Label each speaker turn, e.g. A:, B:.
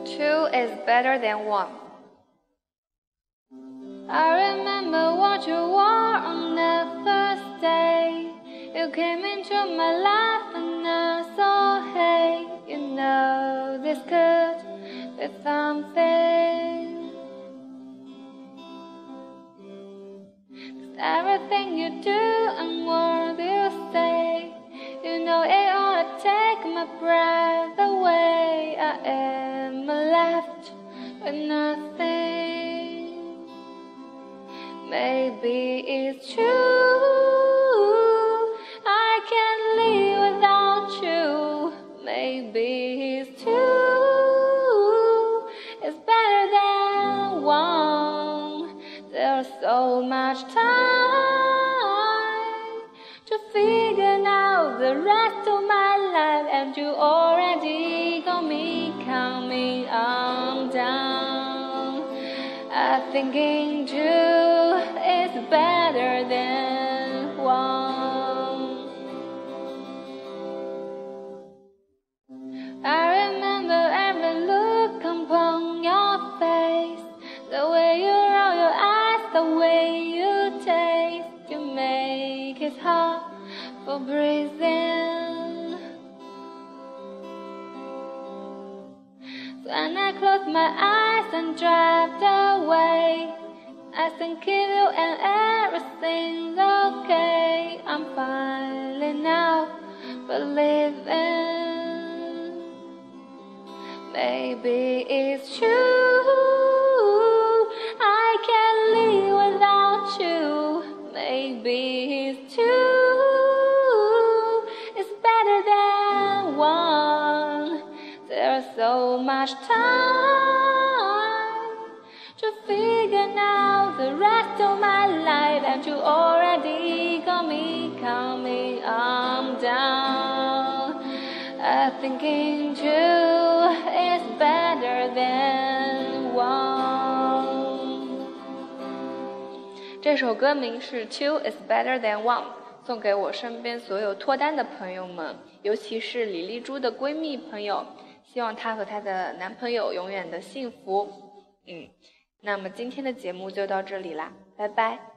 A: Two is better than one. I remember what you wore on the first day. You came into my life and I saw, hey, you know this could be something. 'Cause everything you do and what you say, you know it ought to take my breath away. I am left with nothing. Maybe it's true, I can't live without you. Maybe it's two, it's better than one. There's so much time to figure out the rest of my life, and you already got me coming undone. I'm thinking two is better than one. I remember every look upon your face, the way you roll your eyes, the way you taste. You make it hard for breathing. When I close my eyes and drift away, I think of you and everything's okay. I'm finally now believing. Maybe it's true, I can't live without you. Maybe it's two, it's better than one. There's so much time to figure out the rest of my life, and you already got me coming undone. I'm thinking two is better than one. 这首歌名是 Two is better than one， 送给我身边所有脱单的朋友们，尤其是李丽珠的闺蜜朋友，希望她和她的男朋友永远的幸福。那么今天的节目就到这里啦，拜拜。